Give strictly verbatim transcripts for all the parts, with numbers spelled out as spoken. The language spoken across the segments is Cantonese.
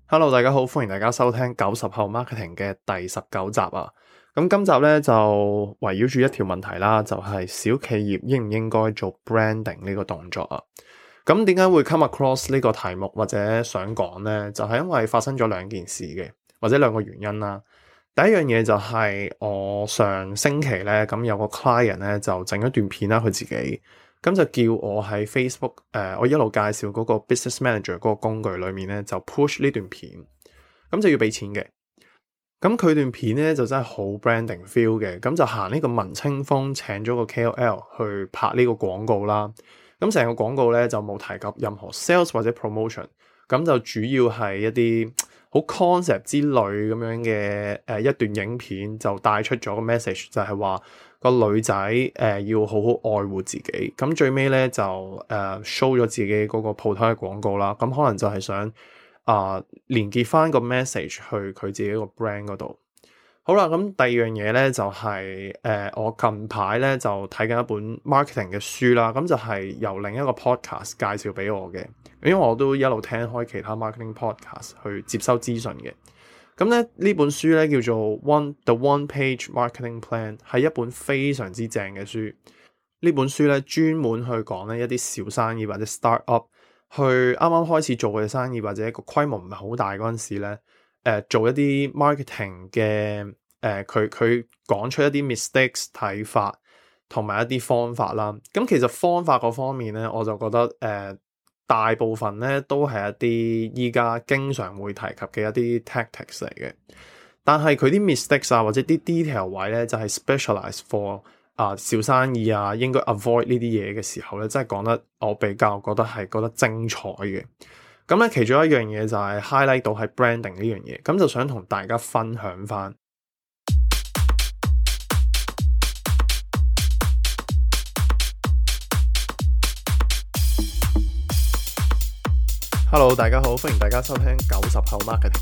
Hello，大家好，歡迎大家收聽九十後 Marketing 嘅第十九集啊。咁今集咧就圍繞住一條問題啦，就係小企業應唔應該做 branding 呢個動作啊？咁點解會 come across 呢個題目或者想講呢？就係因為發生咗兩件事嘅，或者兩個原因啦。第一樣嘢就係我上星期咧，咁有個 client 咧就整咗段片啦，佢自己。咁就叫我喺 Facebook 誒、呃，我一路介紹嗰個 Business Manager 嗰個工具裏面咧，就 push 呢段片，咁就要俾錢嘅。咁佢段片咧就真係好 branding feel 嘅，咁就行呢個文青風，請咗個 K O L 去拍呢個廣告啦。咁成個廣告咧就冇提及任何 sales 或者 promotion，咁就主要係一啲好 concept 之類咁樣嘅誒、呃、一段影片，就帶出咗個 message，就係話個女仔誒、呃、要好好愛護自己。咁最尾咧就誒、呃、show 咗自己嗰個鋪頭嘅廣告啦。咁可能就係想啊、呃、連結翻個 message 去佢自己個 brand 嗰度。好啦，咁第二樣嘢咧就係、是、誒、呃、我近排咧就睇緊一本 marketing 嘅書啦。咁就係由另一個 podcast 介紹俾我嘅，因為我都一路聽開其他 marketing podcast 去接收資訊嘅。咁咧呢本書咧叫做 One The One Page Marketing Plan， 係一本非常之正嘅書。呢本書咧專門去講咧一啲小生意或者 start up， 去啱啱開始做嘅生意或者個規模唔係好大嗰陣時咧，誒、呃、做一啲 marketing 嘅誒佢佢講出一啲 mistakes 睇法同埋一啲方法啦。咁其實方法嗰方面咧，我就覺得誒、呃大部分咧都係一啲依家經常會提及嘅一啲 tactics 嚟嘅，但係佢啲 mistakes 啊或者啲 detail 位咧就係 specialize for 啊、呃、小生意啊應該 avoid 呢啲嘢嘅時候咧，真係講得我比較覺得係覺得精彩嘅。咁咧其中一樣嘢就係 highlight 到係 branding 呢樣嘢，咁就想同大家分享翻。Hello， 大家好，歡迎大家收聽九十後 Marketing。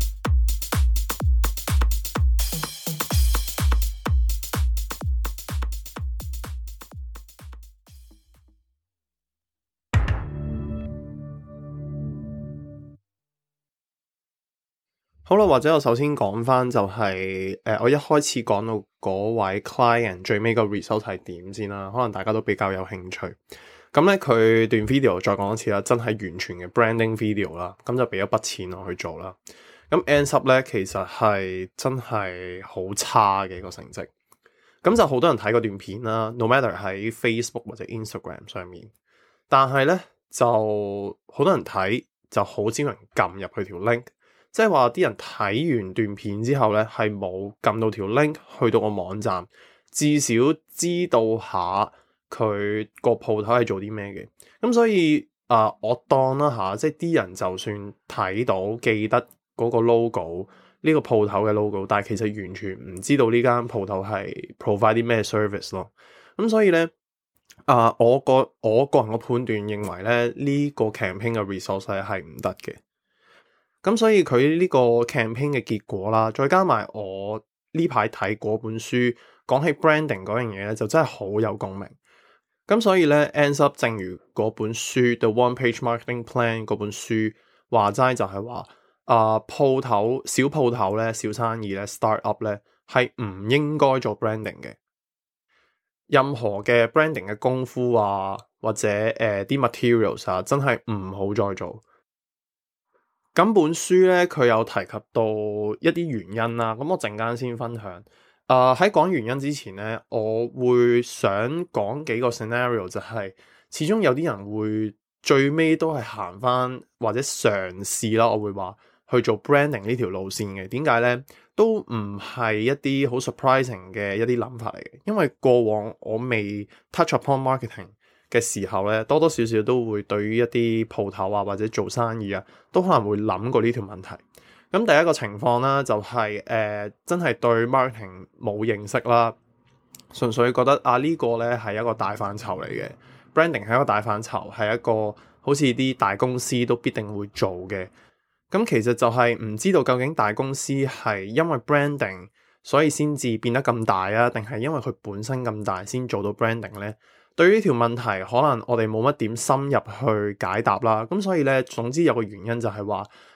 好啦，或者我首先講翻就係、是、誒、呃，我一開始講到嗰位 client 最尾個 result 係點先啦，可能大家都比較有興趣。咁咧佢段 video 再講一次啦，真係完全嘅 branding video 啦，咁就俾咗筆錢我去做啦。咁 ends up 咧其實係真係好差嘅個成績。咁就好多人睇嗰段片啦 ，no matter 喺 Facebook 或者 Instagram 上面，但係咧就好多人睇就好少人撳入去條 link，即係話啲人睇完段片之後咧係冇撳到條 link 去到個網站，至少知道下佢個鋪頭係做啲咩嘅。咁所以啊、呃，我當啦吓，即係啲人就算睇到記得嗰個 logo 呢個鋪頭嘅 logo， 但係其實完全唔知道呢間鋪頭係 provide 啲咩 service 咯。咁所以咧啊、呃，我個我個人嘅判斷認為咧呢、這個 campaign 嘅 resource 係唔得嘅。咁所以佢呢個 campaign 嘅結果啦，再加埋我呢排睇嗰本書講起 branding 嗰樣嘢咧，就真係好有共鳴。咁所以咧 ends up 正如嗰本書 The One Page Marketing Plan 嗰本書話齋，就係話啊鋪頭小鋪頭咧小生意咧 start up 咧係唔應該做 branding 嘅。任何嘅 branding 嘅功夫啊或者誒啲、呃、materials 啊真係唔好再做。咁本書咧佢有提及到一啲原因啦，咁我陣間先分享。啊喺講原因之前咧，我會想講幾個 scenario， 就係、是、始終有啲人會最尾都係行翻或者嘗試啦，我會話去做 branding 呢條路線嘅。點解咧？都唔係一啲好 surprising 嘅一啲諗法嚟嘅，因為過往我未 touch upon marketing嘅時候咧，多多少少都會對於一啲鋪頭啊或者做生意啊，都可能會諗過呢條問題。咁第一個情況啦、就是，就係誒真係對 marketing 冇認識啦，純粹覺得啊呢、這個咧係一個大範疇嚟嘅 branding 係一個大範疇，係一個好似啲大公司都必定會做嘅。咁其實就係唔知道究竟大公司係因為 branding 所以先至變得咁大啊，定係因為佢本身咁大先做到 branding 咧？對於呢條問題，可能我哋冇乜點深入去解答啦。咁所以咧，總之有個原因就係話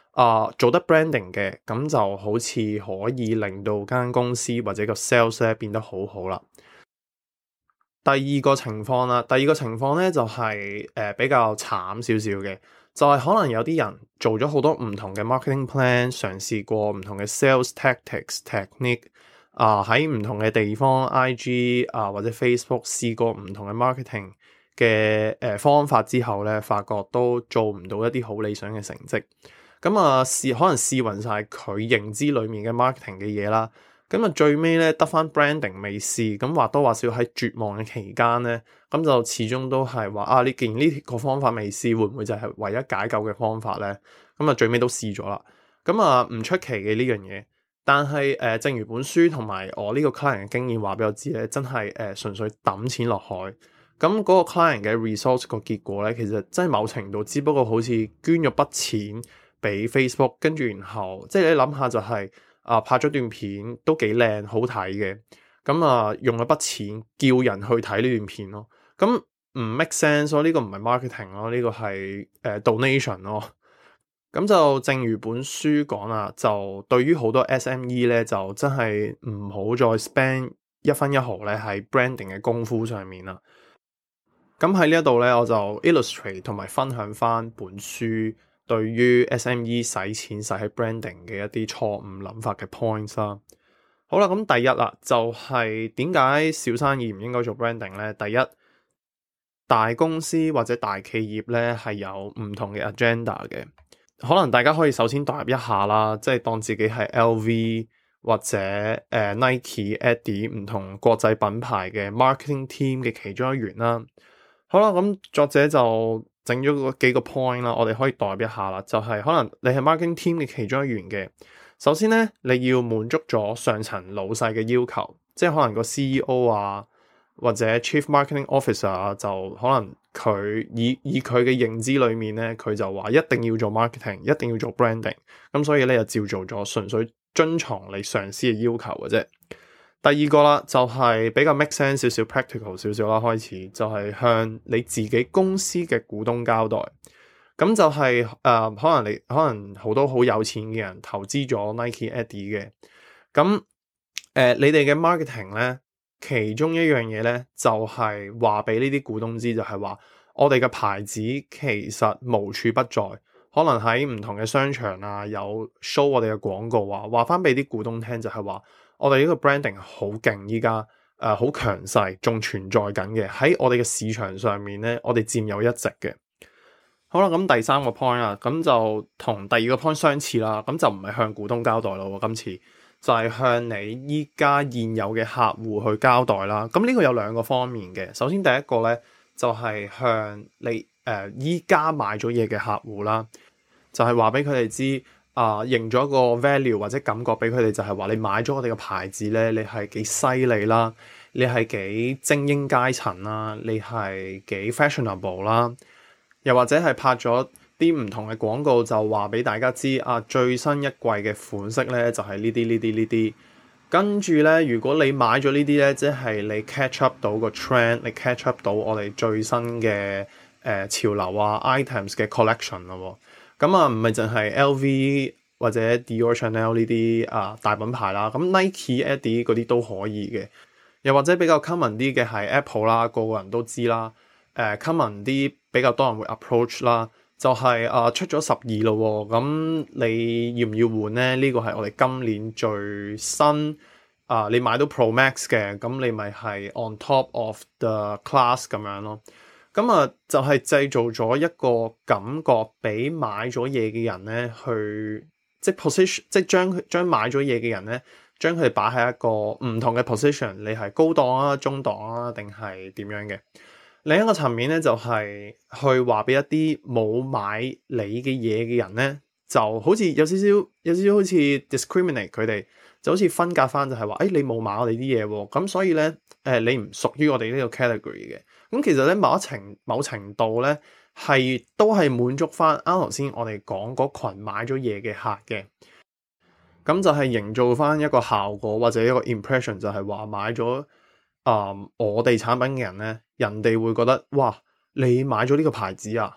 啊、呃、做得 branding 嘅，咁就好似可以令到間公司或者個 sales 咧變得好好啦。第二個情況啦，第二個情況咧就係、是、誒、呃、比較慘少少嘅，就係、是、可能有啲人做咗好多唔同嘅 marketing plan，嘗試過唔同嘅 sales tactics technique 啊、呃，喺唔同嘅地方 I G 啊、呃、或者 Facebook 試過唔同嘅 marketing 嘅誒、呃、方法之後咧，發覺都做唔到一啲好理想嘅成績。咁啊試可能試勻晒佢認知裡面嘅 marketing 嘅嘢啦。咁啊，最尾咧得翻 branding 未試，咁或多或少喺絕望嘅期間咧，咁就始終都係話啊，你既然呢個方法未試，會唔會就係唯一解救嘅方法咧？咁啊，最尾都試咗啦。咁啊，唔出奇嘅呢樣嘢。但係誒、呃，正如本書同埋我呢個 client 嘅經驗話俾我知咧，真係誒、呃、純粹抌錢落海。咁嗰個 client 嘅 resource 個結果咧，其實真係某程度只不過好似捐咗筆錢俾 Facebook，跟住然後即係你諗下就係、是。啊，拍咗段片都幾靚，好睇嘅。咁啊，用咗筆錢叫人去睇呢段片咯。咁唔 make sense 咯，呢個唔係 marketing 咯，呢個係誒 donation 咯。咁就正如本書講啦，就對於好多 S M E 咧，就真係唔好再 spend 一分一毫咧喺 branding 嘅功夫上面啦。咁喺呢一度咧，我就 illustrate 同埋分享翻本書對於 S M E 使錢使喺 branding 嘅一啲錯誤諗法嘅 points 啦。好啦，咁第一啦，就係點解小生意唔應該做 branding 咧？第一，大公司或者大企業咧係有唔同嘅 agenda 嘅。可能大家可以首先代入一下啦，即係當自己係 L V 或者誒、呃、Nike、Adidas 唔同國際品牌嘅 marketing team 嘅其中一員啦。好啦，咁作者就整咗個幾個 point 啦，我哋可以代入一下啦，就係、是、可能你係 marketing team 嘅其中一員嘅。首先咧，你要滿足咗上層老細嘅要求，即係可能個 C E O 啊，或者 Chief Marketing Officer 啊，就可能佢以以佢嘅認知裏面咧，佢就話一定要做 marketing，一定要做 branding，咁所以咧就照做咗，純粹遵從你上司嘅要求嘅啫。第二個啦，就係、是、比較 make sense 少少 practical 少少啦，開始就係向你自己公司嘅股東交代。咁就係、是、誒、呃，可能你可能好多好有錢嘅人投資咗 Nike、Adidas 嘅。咁誒、呃，你哋嘅 marketing 咧，其中一樣嘢咧，就係話俾呢啲股東知，就係話我哋嘅牌子其實無處不在，可能喺唔同嘅商場啊，有 show 我哋嘅廣告啊，話翻俾啲股東聽，就係話我哋呢個 branding 好勁，依家誒好強勢，仲存在緊嘅，喺我哋嘅市場上面咧，我哋佔有一席嘅。好啦，咁第三個 point 啦，咁就同第二個 point 相似啦，咁就唔係向股東交代咯，今次就係向你依家現有嘅客戶去交代啦。咁呢個有兩個方面嘅，首先第一個咧就係向你誒依家買咗嘢嘅客戶啦，就係話俾佢哋知啊，認咗個 value 或者感覺俾佢哋，就係話你買咗我哋嘅牌子咧，你係幾犀利啦，你係幾精英階層啦，你係幾 fashionable 啦。又或者係拍咗啲唔同嘅廣告，就話俾大家知啊，最新一季嘅款式咧就係呢啲呢啲呢啲。跟住咧，如果你買咗呢啲咧，即係你 catch up 到個 trend，你 catch up 到我哋最新嘅誒、呃、潮流啊 items 嘅 collection 咯。咁啊，唔係淨係 L V 或者 Dior、Chanel 呢啲啊大品牌啦，咁 Nike、Adidas 嗰啲都可以嘅。又或者比較 common 啲嘅係 Apple 啦，個個人都知啦。誒、uh, common 啲比較多人會 approach 啦，就係、是、啊、uh, 出咗十二咯，咁你要唔要換咧？呢、這個係我哋今年最新啊，uh, 你買到 Pro Max 嘅，咁你咪係 on top of the class 咁樣咯。咁啊，就係、是、製造咗一個感覺俾買咗嘢嘅人咧，去即係 position，即係將將買咗嘢嘅人咧，將佢哋擺喺一個唔同嘅 position，你係高檔啊、中檔啊，定係點樣嘅？另一個層面咧，就係、是、去話俾一啲冇買你嘅嘢嘅人咧，就好似有少少有少少好似 discriminate 佢哋，就好似分隔翻，就係話誒你冇買我哋啲嘢喎，咁所以咧誒、呃、你唔屬於我哋呢個 category 嘅。咁其實咧某一程某程度咧係都係滿足翻啱頭先我哋講嗰群買咗嘢嘅客嘅。咁就係營造翻一個效果或者一個 impression，就係話買咗啊、呃、我哋產品嘅人咧，人哋會覺得哇，你買咗呢個牌子啊，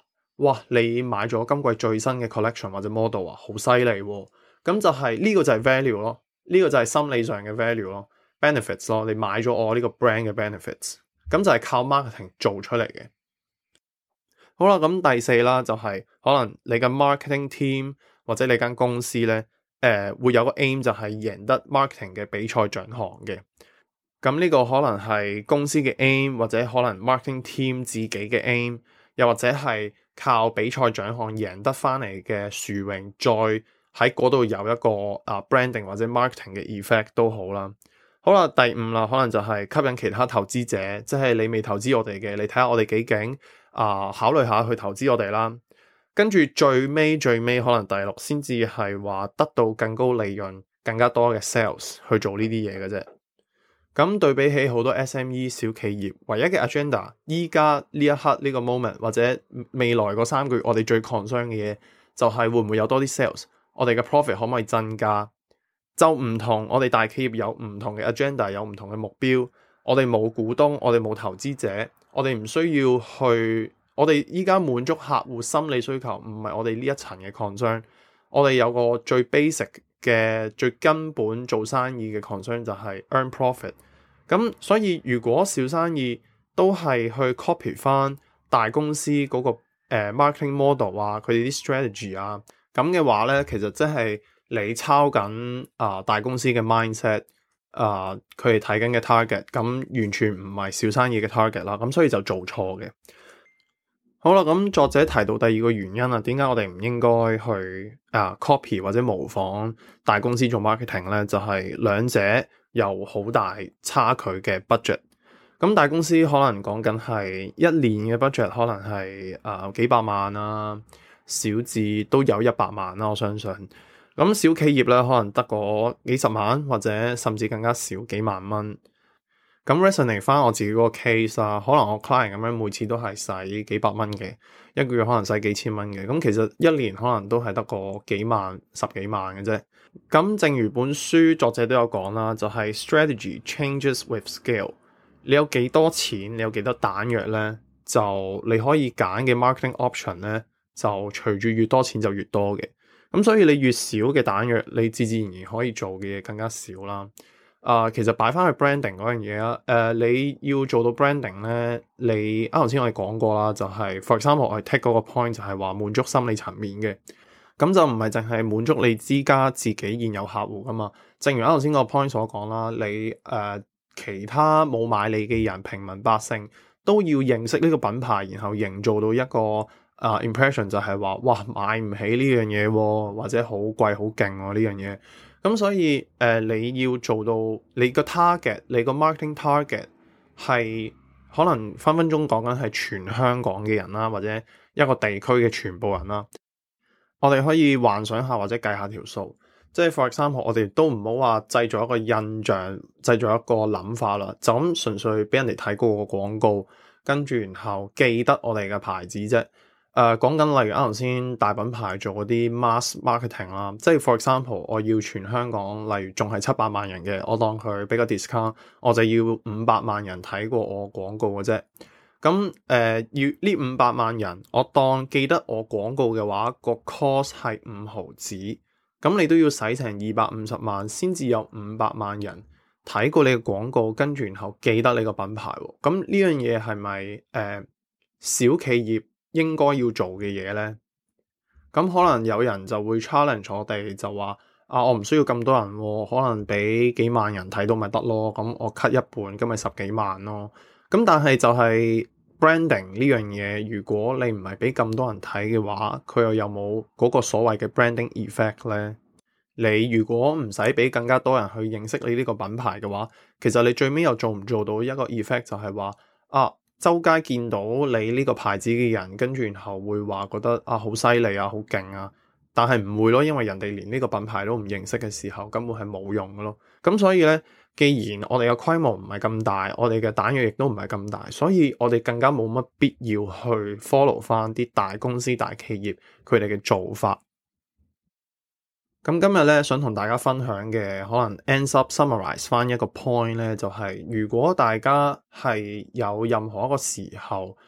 哇，你買咗今季最新嘅 collection 或者 model 啊，好犀利喎！咁就係、是、呢、這個就係 value 咯，呢、這個就係心理上嘅 value 咯 ，benefits 咯，你買咗我呢個 brand 嘅 benefits，咁就係靠 marketing 做出嚟嘅。好啦，咁第四啦，就係、是、可能你嘅 marketing team 或者你間公司咧，誒、呃、會有個 aim 就係贏得 marketing 嘅比賽獎項嘅。咁呢個可能係公司嘅 aim，或者可能 marketing team 自己嘅 aim，又或者係靠比賽獎項贏得翻嚟嘅殊榮，再喺嗰度有一個啊 branding 或者 marketing 嘅 effect 都好啦。好啦，第五啦，可能就係吸引其他投資者，即係你未投資我哋嘅，你睇下我哋幾勁啊，考慮下去投資我哋啦。跟住最尾最尾可能第六先至係話得到更高利潤、更加多嘅 sales 去做呢啲嘢嘅啫。咁對比起好多 S M E 小企業，唯一嘅 agenda，依家呢一刻呢個 moment 或者未來嗰三個月，我哋最 concern 嘅嘢就係會唔會有多啲 sales，我哋嘅 profit 可唔可以增加？就唔同我哋大企業有唔同嘅 agenda，有唔同嘅目標。我哋冇股東，我哋冇投資者，我哋唔需要去。我哋依家滿足客戶心理需求，唔係我哋呢一層嘅 concern。我哋有個最 basic 嘅最根本做生意嘅 concern 就係 earn profit。咁所以如果小生意都係去 copy 翻大公司嗰、那個誒、呃、marketing model 啊，佢哋啲 strategy 啊，咁嘅話咧，其實即係你抄緊啊、呃、大公司嘅 mindset 啊、呃，佢哋睇緊嘅 target，咁完全唔係小生意嘅 target 啦，咁所以就做錯嘅。好啦，咁作者提到第二個原因啊，點解我哋唔應該去啊 copy 或者模仿大公司做 marketing 咧？就係、是、兩者有好大差距嘅 budget。咁大公司可能講緊係一年嘅 budget，可能係啊、呃、幾百萬啊，小至都有一百萬啦、啊，我相信。咁小企業咧，可能得個幾十萬或者甚至更加少幾萬蚊。咁 resonate 翻我自己嗰個 case 啊，可能我 client 咁樣每次都係使幾百蚊嘅，一個月可能使幾千蚊嘅，咁其實一年可能都係得個幾萬、十幾萬嘅啫。咁正如本書作者都有講啦，就係 strategy changes with scale。你有幾多錢，你有幾多彈藥咧，就你可以揀嘅 marketing option 咧，就隨住越多錢就越多嘅。咁所以你越少嘅彈藥，你自自然然可以做嘅嘢更加少啦。啊、呃，其實擺翻去 branding 嗰樣嘢啊，誒、呃，你要做到 branding 咧，你啱頭先我哋講過啦，就係、是、for example 我哋 take 嗰個 point 就係話滿足心理層面嘅，咁就唔係淨係滿足你之家自己現有客戶噶嘛。正如啱頭先個 point 所講啦，你誒、呃、其他冇買你嘅人，平民百姓都要認識呢個品牌，然後營造到一個啊、uh, impression 就係話，哇，買唔起呢樣嘢喎，或者好貴好勁喎呢樣嘢。咁所以誒、呃、你要做到你個 target，你個 marketing target 係可能分分鐘講緊係全香港嘅人啦，或者一個地區嘅全部人啦。我哋可以幻想下或者計下條數，即係 for example，我哋都唔好話製造一個印象，製造一個諗法啦，就咁純粹俾人哋睇過個廣告，跟住然後記得我哋嘅牌子啫。誒講緊例如啱頭先大品牌做嗰啲 mass marketing 啦，即係 for example，我要全香港，例如仲係七百萬人嘅，我當佢俾個 discount，我就要五百萬人睇過我廣告嘅啫。咁誒、呃、要呢五百萬人，我當記得我廣告嘅話，個 cost 係五毫子，咁你都要使成二百五十萬先至有五百萬人睇過你嘅廣告，跟住然後記得你個品牌喎。咁呢樣嘢係咪誒小企業應該要做嘅嘢咧？咁可能有人就會 challenge 我哋，就話啊，我唔需要咁多人喎，可能俾幾萬人睇到咪得咯，咁我 cut 一半，咁咪十幾萬咯。咁但係就係 branding 呢樣嘢，如果你唔係俾咁多人睇嘅話，佢又有冇嗰個所謂嘅 branding effect 咧？你如果唔使俾更加多人去認識你呢個品牌嘅話，其實你最尾又做唔做到一個 effect，就係話啊，周街見到你呢個牌子嘅人，跟住然後會話覺得啊好犀利啊，好勁啊，但係唔會咯，因為人哋連呢個品牌都唔認識嘅時候，根本係冇用嘅咯。咁所以咧，既然我哋嘅規模唔係咁大，我哋嘅彈藥亦都唔係咁大，所以我哋更加冇乜必要去 follow 翻啲大公司大企業佢哋嘅做法。咁今日咧想同大家分享嘅，可能 ends up summarize 翻一個 point 咧，就係如果大家係有任何一個時候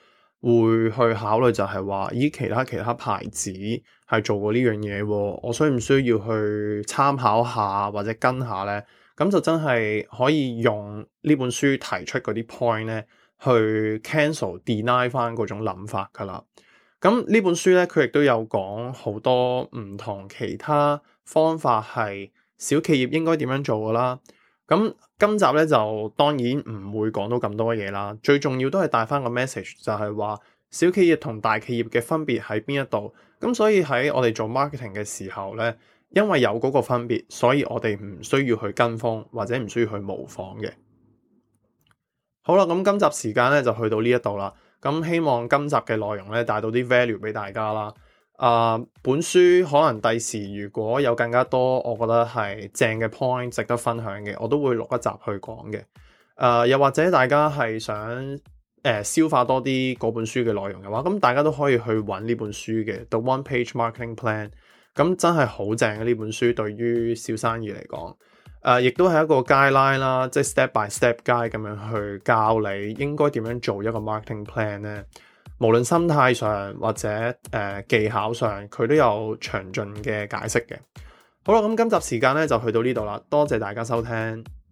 會去考慮就係話，咦，其他其他牌子係做過呢樣嘢，我需唔需要去參考下或者跟下呢？咁就真係可以用呢本書提出嗰啲 point 咧，去 cancel deny 翻嗰種諗法噶啦。咁呢本書咧，佢亦都有講好多唔同其他方法係小企業應該點樣做噶啦。咁今集咧就當然唔會講到咁多嘢啦，最重要都係帶翻個 message，就係話小企業同大企業嘅分別喺邊一度。咁所以喺我哋做 marketing 嘅時候咧，因為有嗰個分別，所以我哋唔需要去跟風或者唔需要去模仿嘅。好啦，咁今集時間咧就去到呢一度啦。咁希望今集嘅內容咧帶到啲 value 俾大家啦。啊、呃，本書可能第時如果有更加多我覺得係正嘅 point 值得分享嘅，我都會錄一集去講嘅。誒、呃，又或者大家係想誒、呃、消化多啲嗰本書嘅內容嘅話，咁大家都可以去揾呢本書嘅 The One Page Marketing Plan。咁真係好正嘅呢本書，對於小生意嚟講。誒、呃，亦都係一個 guideline 啦，即係 step by step guide 咁樣去教你應該點樣做一個 marketing plan 咧。無論心態上或者誒、呃、技巧上，佢都有詳盡嘅解釋嘅。好啦，咁今集時間咧就去到呢度啦，多謝大家收聽。